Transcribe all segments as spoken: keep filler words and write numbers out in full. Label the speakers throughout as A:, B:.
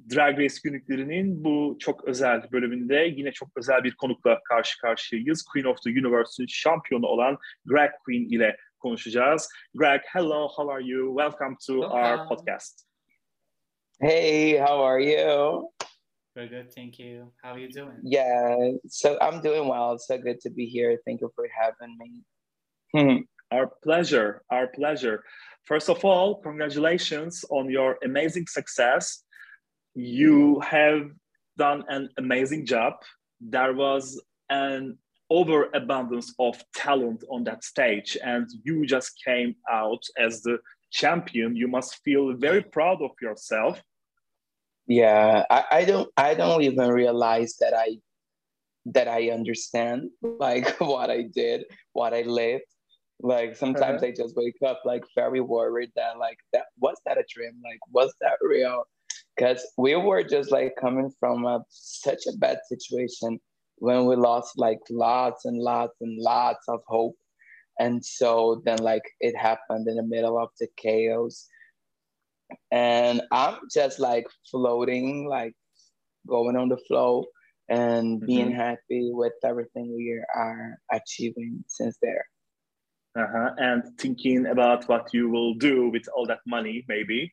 A: Drag Race günlüklerinin bu çok özel bölümünde yine çok özel bir konukla karşı karşıyayız. Queen of the Universe'ün şampiyonu olan Greg Queen ile konuşacağız. Greg, hello, how are you? Welcome to
B: Welcome.
A: our podcast.
C: Hey, how are you?
B: Very good, thank you. How are you doing?
C: Yeah, so I'm doing well. It's so good to be here. Thank you for having me.
A: Our pleasure, our pleasure. First of all, congratulations on your amazing success. You have done an amazing job. There was an overabundance of talent on that stage, and you just came out as the champion. You must feel very proud of yourself.
C: Yeah, I, I don't I don't even realize that I that I understand like what I did, what I lived. Like sometimes
A: Uh-huh.
C: I just wake up like very worried that like that was that a dream? Like was that real? Because we were just like coming from a, such a bad situation when we lost like lots and lots and lots of hope. And so then like it happened in the middle of the chaos. And I'm just like floating, like going on the flow and being
A: Mm-hmm.
C: happy with everything we are achieving since there.
A: Uh-huh. And thinking about what you will do with all that money, maybe.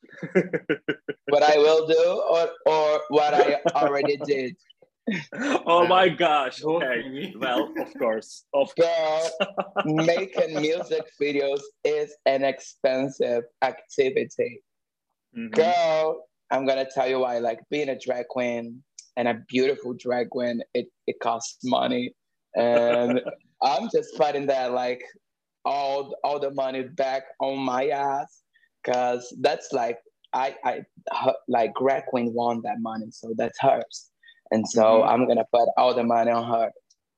C: What I will do or, or what I already did.
A: Oh
B: Wow.
A: my gosh.
B: Both,
A: Okay.
B: maybe.
A: Well, of course. Of
C: Girl, making music videos is an expensive activity.
A: Mhm.
C: Girl, I'm gonna tell you why. Like being a drag queen and a beautiful drag queen, it, it costs money. And I'm just putting that like all all the money back on my ass. Cause that's like I I her, like drag queen won that money, so that's hers. And so
A: Mhm.
C: I'm gonna put all the money on her.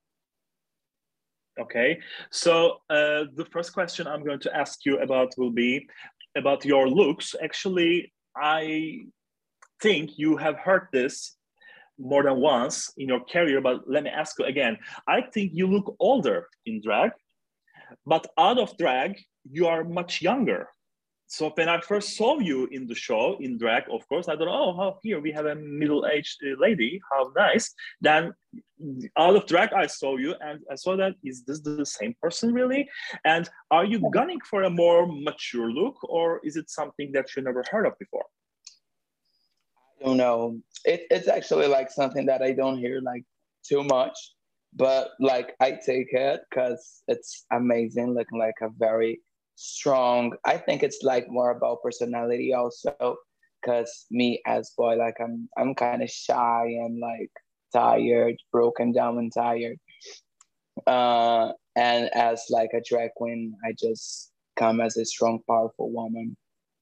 A: Okay. So uh, the first question I'm going to ask you about will be about your looks. Actually, I think you have heard this more than once in your career, but let me ask you again. I think you look older in drag, but out of drag, you are much younger. So when I first saw you in the show in drag, of course, I thought, oh, how here we have a middle-aged uh, lady, how nice. Then out of drag, I saw you and I saw that, is this the same person really? And are you gunning for a more mature look, or is it something that you never heard of before?
C: I don't know. It, it's actually like something that I don't hear like too much, but like I take it because it's amazing, looking like a very strong. I think it's like more about personality also, because me as boy, like I'm I'm kind of shy and like tired, broken down and tired. Uh, and as like a drag queen, I just come as a strong, powerful woman.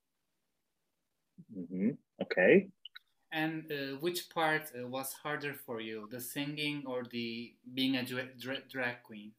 A: Mm-hmm. Okay.
B: And uh, which part uh, was harder for you, the singing or the being a dra- dra- drag queen?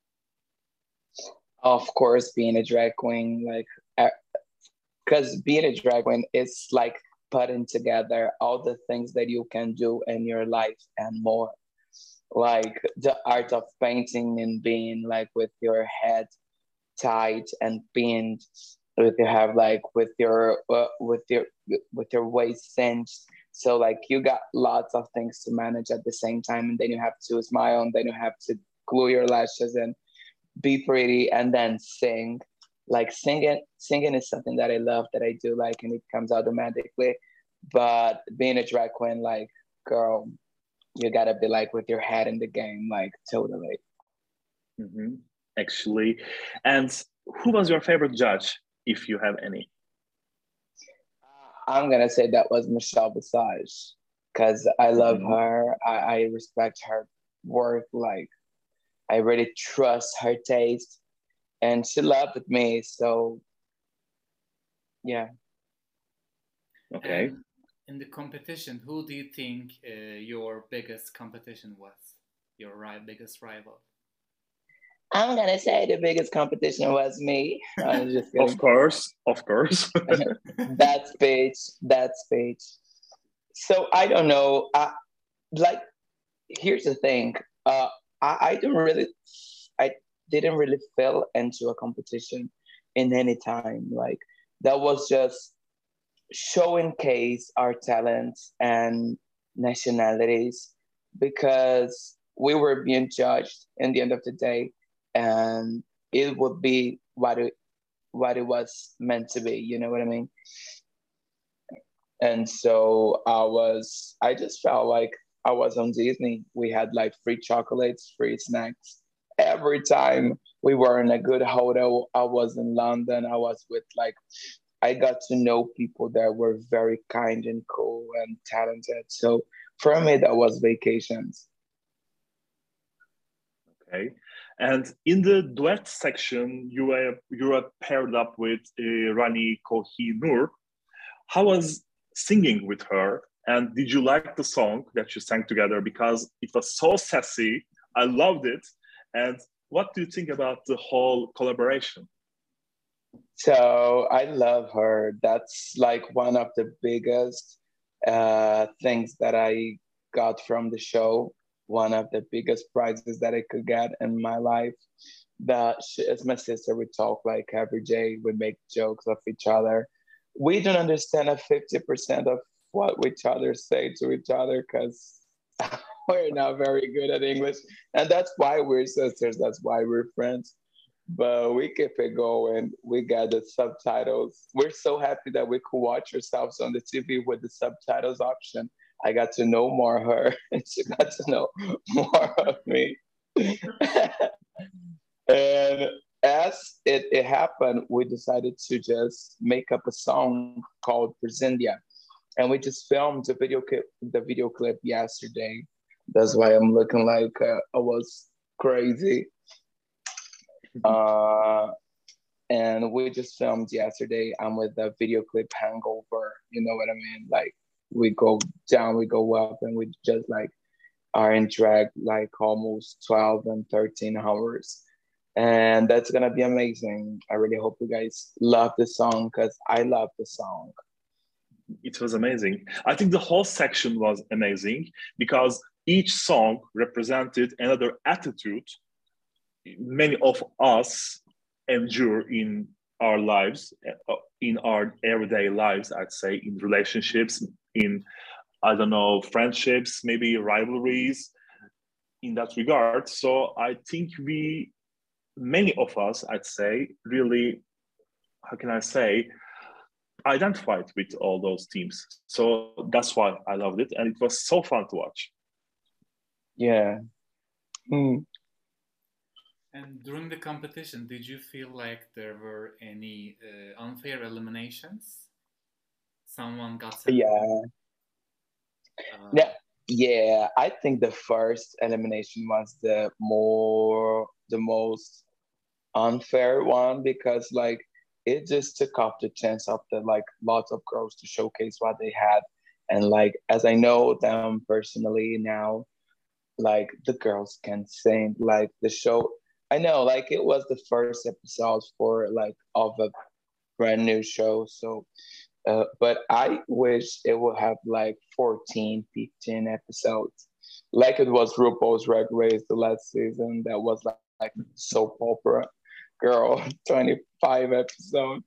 C: Of course, being a drag queen, like, because being a drag queen is like putting together all the things that you can do in your life and more. Like the art of painting and being like with your head tight and pinned, with your have like with your uh, with your with your waist cinched. So like you got lots of things to manage at the same time, and then you have to smile, and then you have to glue your lashes and be pretty, and then sing. Like singing, singing is something that I love, that I do like, and it comes automatically. But being a drag queen, like, girl, you gotta be like with your head in the game, like totally.
A: Mm-hmm. Actually, and who was your favorite judge, if you have any?
C: I'm gonna say that was Michelle Visage, because I love
A: Mm-hmm.
C: her. I, I respect her work. Like I really trust her taste, and she loved me. So yeah.
A: Okay.
B: And in the competition, who do you think uh, your biggest competition was? Your ri- biggest rival?
C: I'm gonna say the biggest competition was me. I'm just
A: Of
C: kidding.
A: course, of course.
C: That speech, that speech. So I don't know. I, like, here's the thing. Uh, I, I don't really, I didn't really fell into a competition in any time. Like that was just showcase our talents and nationalities because we were being judged in the end of the day, and it would be what it what it was meant to be. You know what I mean? And so I was, I just felt like I was on Disney. We had like free chocolates, free snacks. Every time we were in a good hotel, I was in London. I was with like, I got to know people that were very kind and cool and talented. So for me, that was vacations.
A: Okay. And in the duet section, you were you were paired up with uh, Rani Kohinoor. How was singing with her? And did you like the song that you sang together? Because it was so sassy. I loved it. And what do you think about the whole collaboration?
C: So I love her. That's like one of the biggest uh, things that I got from the show. One of the biggest prizes that I could get in my life. That she is my sister. We talk like every day. We make jokes of each other. We don't understand a fifty percent of what each other say to each other because we're not very good at English. And that's why we're sisters. That's why we're friends. But we keep it going. We got the subtitles. We're so happy that we could watch ourselves on the T V with the subtitles option. I got to know more of her, and she got to know more of me. And as it, it happened, we decided to just make up a song called Presendia. And we just filmed the video clip, the video clip yesterday. That's why I'm looking like uh, I was crazy. Uh, and we just filmed yesterday. I'm with the video clip hangover. You know what I mean? Like we go down, we go up, and we just like are in drag like almost twelve and thirteen hours. And that's gonna be amazing. I really hope you guys love the song because I love the song.
A: It was amazing. I think the whole section was amazing because each song represented another attitude many of us endure in our lives, in our everyday lives, I'd say, in relationships, in, I don't know, friendships, maybe rivalries, in that regard. So I think we, many of us, I'd say, really, how can I say, identified with all those teams. So that's why I loved it. And it was so fun to watch.
C: Yeah. Mm.
B: And during the competition, did you feel like there were any uh, unfair eliminations? Someone got sent.
C: Yeah. Uh, yeah. Yeah. I think the first elimination was the more, the most unfair one because like it just took off the chance of the like lots of girls to showcase what they had. And like, as I know them personally now, like the girls can sing, like the show. I know, like it was the first episode for like of a brand new show. So, uh, but I wish it would have like fourteen, fifteen episodes, like it was RuPaul's Drag Race the last season. That was like, like soap opera, girl, twenty-five episodes,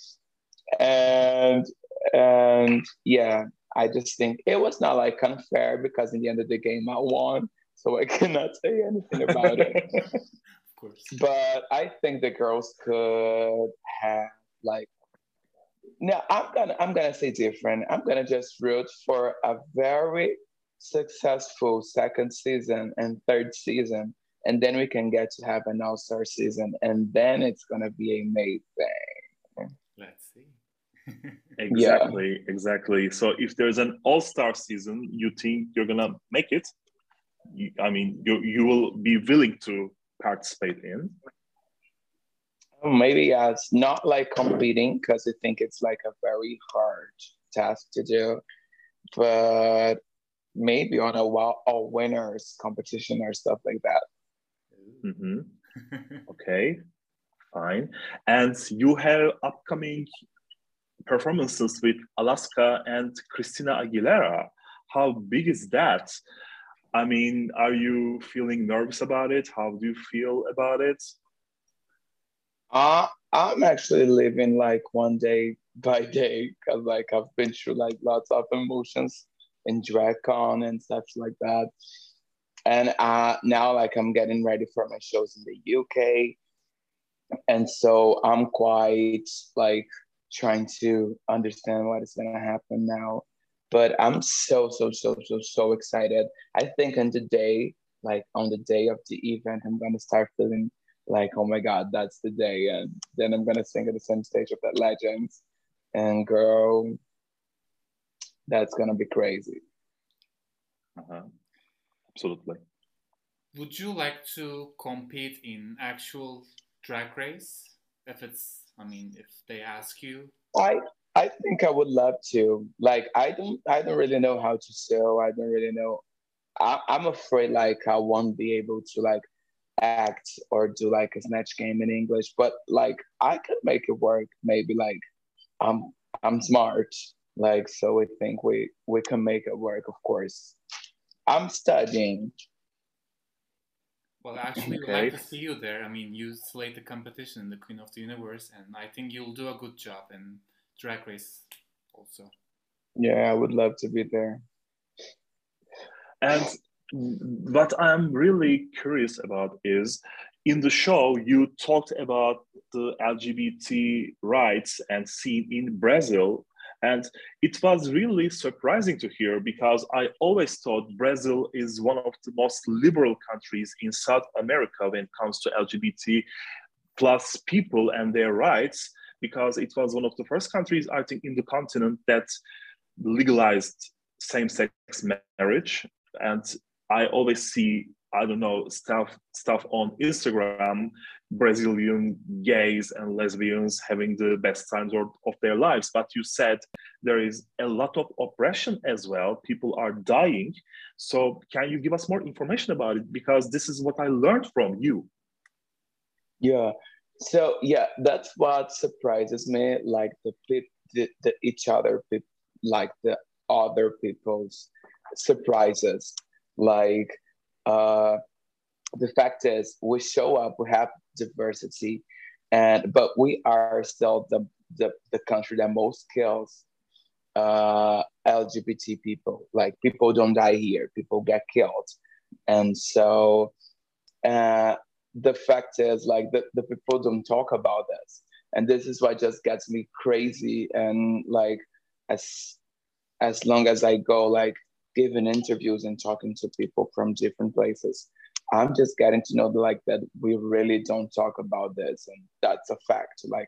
C: and and yeah, I just think it was not like unfair because in the end of the game I won, so I cannot say anything about it. But I think the girls could have like no, I'm gonna I'm gonna say different. I'm gonna just root for a very successful second season and third season, and then we can get to have an all-star season, and then it's gonna be amazing.
B: Let's see.
A: Exactly,
C: yeah.
A: exactly. So if there's an all-star season, you think you're gonna make it? You, I mean, you you will be willing to participate in?
C: Maybe as not like competing because I think it's like a very hard task to do, but maybe on a, a winners competition or stuff like that.
A: Mm-hmm. Okay, fine. And you have upcoming performances with Alaska and Christina Aguilera. How big is that? I mean, are you feeling nervous about it? How do you feel about it?
C: Uh, I'm actually leaving like one day by day, because like I've been through like lots of emotions in DragCon and stuff like that. And uh, now like I'm getting ready for my shows in the U K, and so I'm quite like trying to understand what is gonna happen now. But I'm so so so so so excited. I think on the day, like on the day of the event, I'm gonna start feeling like, oh my God, that's the day, and then I'm gonna sing at the same stage of that Legends, and girl, that's gonna be crazy.
A: Uh-huh. Absolutely.
B: Would you like to compete in actual drag race? If it's, I mean, if they ask you.
C: I I think I would love to. Like I don't I don't really know how to sew. I don't really know. I, I'm afraid like I won't be able to like act or do like a snatch game in English, but like I could make it work. Maybe like I'm I'm smart. Like so I think we we can make it work, of course. I'm studying.
B: Well, actually, we'd like
A: Okay.
B: to see you there. I mean, you slate the competition in the Queen of the Universe, and I think you'll do a good job in Drag Race also.
C: Yeah, I would love to be there.
A: And what I'm really curious about is in the show, you talked about the L G B T rights and scene in Brazil. And it was really surprising to hear because I always thought Brazil is one of the most liberal countries in South America when it comes to L G B T plus people and their rights, because it was one of the first countries, I think, in the continent that legalized same-sex marriage. And I always see, I don't know, stuff stuff on Instagram, Brazilian gays and lesbians having the best times of, of their lives. But you said there is a lot of oppression as well. People are dying. So can you give us more information about it? Because this is what I learned from you.
C: Yeah. So yeah, that's what surprises me. Like the peop- the, the each other people, like the other people's surprises. Like uh, the fact is, we show up, we have diversity, and but we are still the the, the country that most kills uh, L G B T people. Like people don't die here, people get killed, and so uh, the fact is like the, the people don't talk about this, and this is what just gets me crazy. And like as as long as I go like giving interviews and talking to people from different places, I'm just getting to know like that we really don't talk about this, and that's a fact. Like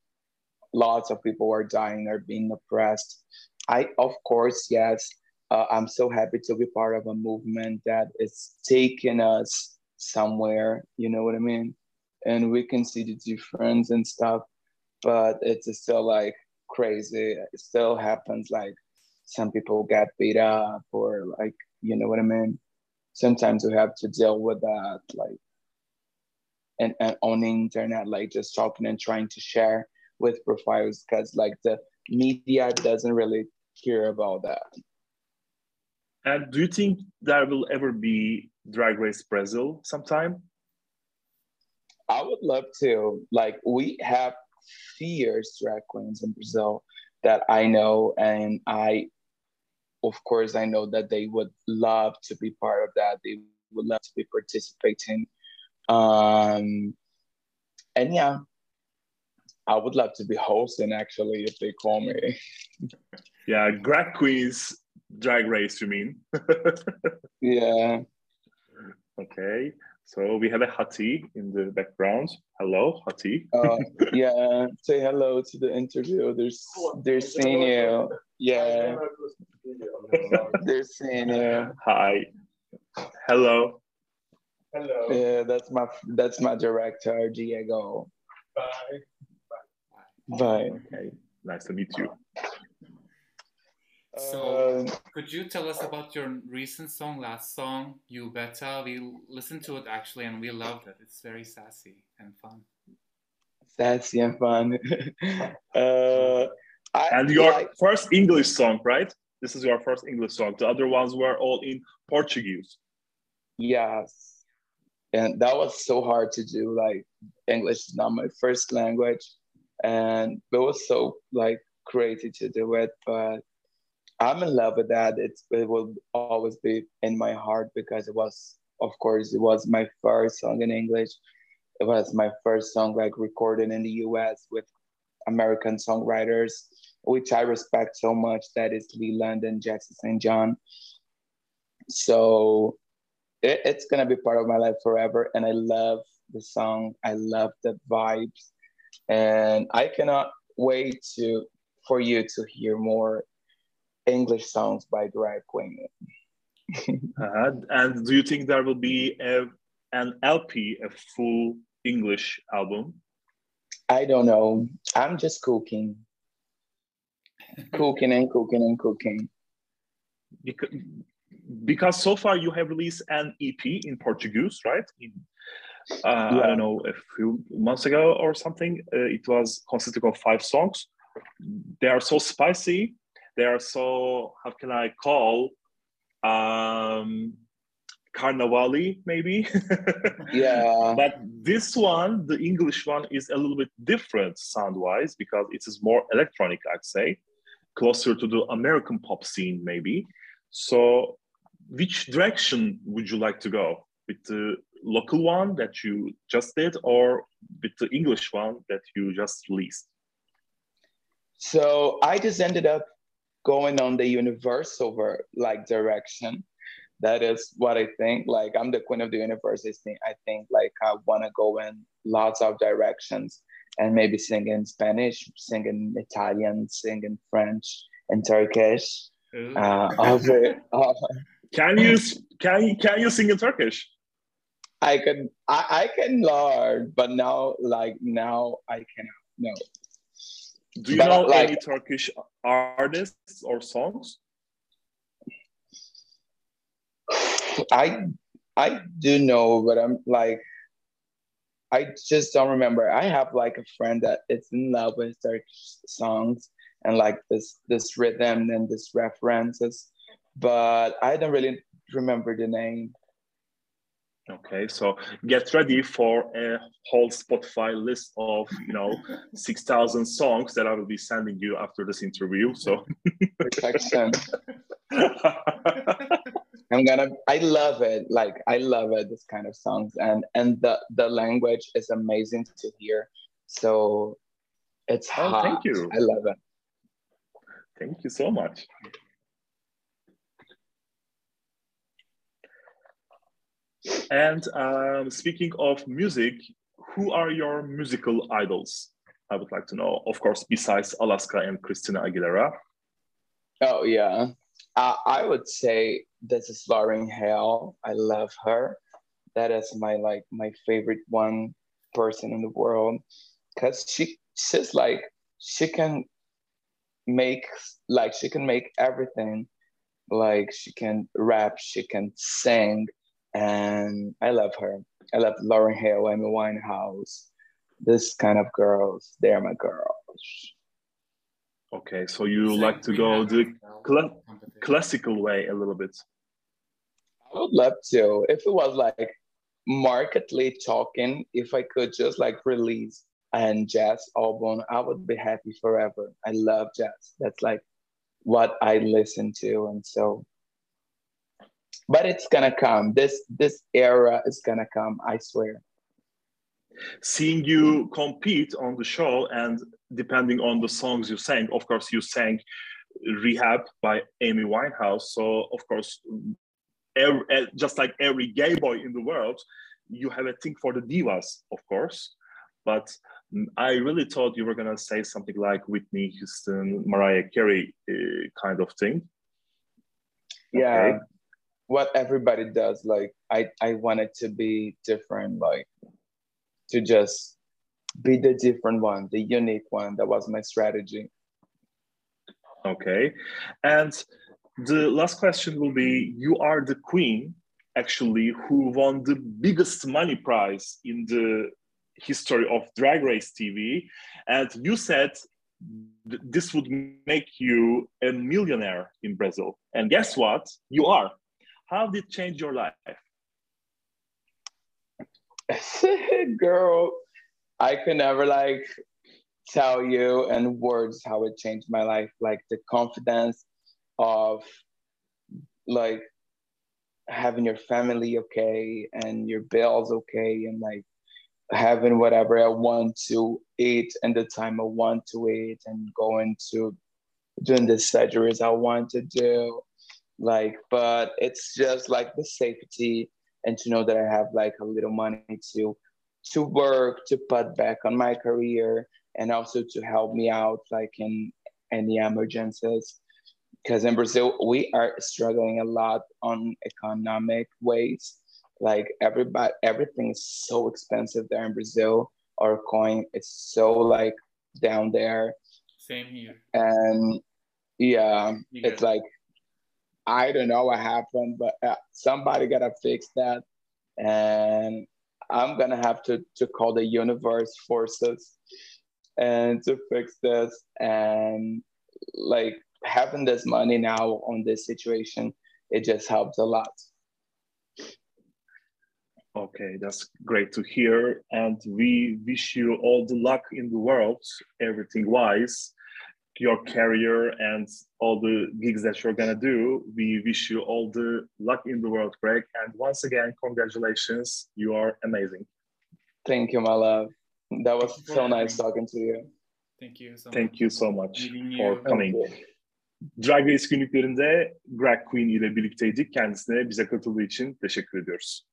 C: lots of people are dying or being oppressed. I, of course, yes, uh, I'm so happy to be part of a movement that is taking us somewhere, you know what I mean? And we can see the difference and stuff, but it's still like crazy. It still happens like some people get beat up or like, you know what I mean? Sometimes we have to deal with that, like, and, and on the internet, like just talking and trying to share with profiles because like the media doesn't really care about that.
A: And do you think there will ever be Drag Race Brazil sometime?
C: I would love to. Like we have fierce drag queens in Brazil that I know, and I, of course, I know that they would love to be part of that. They would love to be participating. Um, and yeah, I would love to be hosting actually if they call me.
A: Yeah, drag queens drag race, you mean?
C: Yeah.
A: Okay, so we have a Hati in the background. Hello, Hati.
C: Uh, yeah. Say hello to the interview. They're they're seeing you. Yeah. They're seeing you.
A: Hi. Hello.
C: Hello. Yeah, that's my that's my director, Diego.
A: Bye.
C: Bye.
A: Okay, nice to meet you.
B: So,
C: Uh,
B: could you tell us about your recent song, last song, You Betta? We listened to it actually and we loved it. It's very sassy and fun.
C: sassy and fun. uh, I
A: And your
C: like,
A: first English song, right? This is your first English song. The other ones were all in Portuguese.
C: yes. And that was so hard to do. Like English is not my first language. And it was so like crazy to do it, but I'm in love with that. It's it will always be in my heart because it was, of course, it was my first song in English. It was my first song like recorded in the U S with American songwriters, which I respect so much. That is Leland and Jackson Saint John. So it, it's gonna be part of my life forever, and I love the song. I love the vibes, and I cannot wait to for you to hear more English songs by Drag Queen.
A: Uh, and do you think there will be a, an L P, a full English album?
C: I don't know. I'm just cooking, cooking and cooking and cooking.
A: Because, because so far you have released an E P in Portuguese, right? In, uh, yeah. I don't know, a few months ago or something. Uh, it was consisting of five songs. They are so spicy. They are so, how can I call, um, carnivali maybe.
C: Yeah.
A: But this one, the English one, is a little bit different sound-wise because it is more electronic, I'd say, closer to the American pop scene maybe. So which direction would you like to go? With the local one that you just did or with the English one that you just released?
C: So I just ended up going on the universal like direction. That is what I think. Like I'm the queen of the universe. I think like I want to go in lots of directions and maybe sing in Spanish, sing in Italian, sing in French and Turkish. Uh, over, uh,
A: can you can you can you sing in Turkish?
C: I can I, I can learn, but now like now I cannot. No.
A: Do you but know like, any Turkish artists or songs?
C: I I do know, but I'm like I just don't remember. I have like a friend that is in love with Turkish songs and like this this rhythm and this references, but I don't really remember the name.
A: Okay, so get ready for a whole Spotify list of, you know, six thousand songs that I will be sending you after this interview. So
C: perfection. I'm gonna. I love it. Like I love it. This kind of songs, and and the the language is amazing to hear. So it's
A: oh,
C: hot.
A: Thank you.
C: I love it.
A: Thank you so much. And um, speaking of music, who are your musical idols? I would like to know. Of course, besides Alaska and Christina Aguilera.
C: Oh yeah, uh, I would say this is Lauryn Hill. I love her. That is my like my favorite one person in the world because she she's like she can make like she can make everything. Like she can rap, she can sing, and I love her. I love Lauryn Hill, Amy Winehouse, this kind of girls. They're my girls.
A: Okay, so you like, like to go the cl classical way a little bit.
C: I would love to. If it was like markedly talking, if I could just like release a jazz album, I would be happy forever. I love jazz. That's like what I listen to, and so. But it's gonna come. This this era is gonna come. I swear.
A: Seeing you compete on the show, and depending on the songs you sang, of course, you sang "Rehab" by Amy Winehouse. So, of course, every, just like every gay boy in the world, you have a thing for the divas, of course. But I really thought you were gonna say something like Whitney Houston, Mariah Carey uh, kind of thing.
C: Yeah. Okay. What everybody does, like I, I wanted to be different, like to just be the different one, the unique one. That was my strategy.
A: Okay. And the last question will be, you are the queen, actually, who won the biggest money prize in the history of Drag Race T V. And you said th this would make you a millionaire in Brazil. And guess what? You are. How did it change your life?
C: Girl, I could never like tell you in words how it changed my life. Like the confidence of like having your family okay and your bills okay and like having whatever I want to eat and the time I want to eat and going to doing the surgeries I want to do. Like, but it's just like the safety and to know that I have like a little money to to work, to put back on my career and also to help me out like in any emergencies. Because in Brazil, we are struggling a lot on economic ways. Like everybody, everything is so expensive there in Brazil. Our coin is so like down there.
B: Same here.
C: And yeah,
B: You
C: it's
B: got
C: like, I don't know what happened, but uh, somebody gotta fix that. And I'm gonna have to, to call the universe forces and to fix this. And like having this money now on this situation, it just helps a lot.
A: Okay, that's great to hear. And we wish you all the luck in the world, everything wise, your career and all the gigs that you're gonna do. We wish you all the luck in the world, Greg. And once again, congratulations. You are amazing.
C: Thank you, my love. That was
B: Thank you
C: so
B: for
C: nice
B: coming.
C: talking to you.
B: Thank you so
A: Thank
B: much.
A: you so much
B: Meeting
A: for
B: you.
A: coming.
C: Thank you.
A: Drag Race günlüklerinde Greg Queen ile birlikteydik. Kendisine bize katıldığı için teşekkür ediyoruz.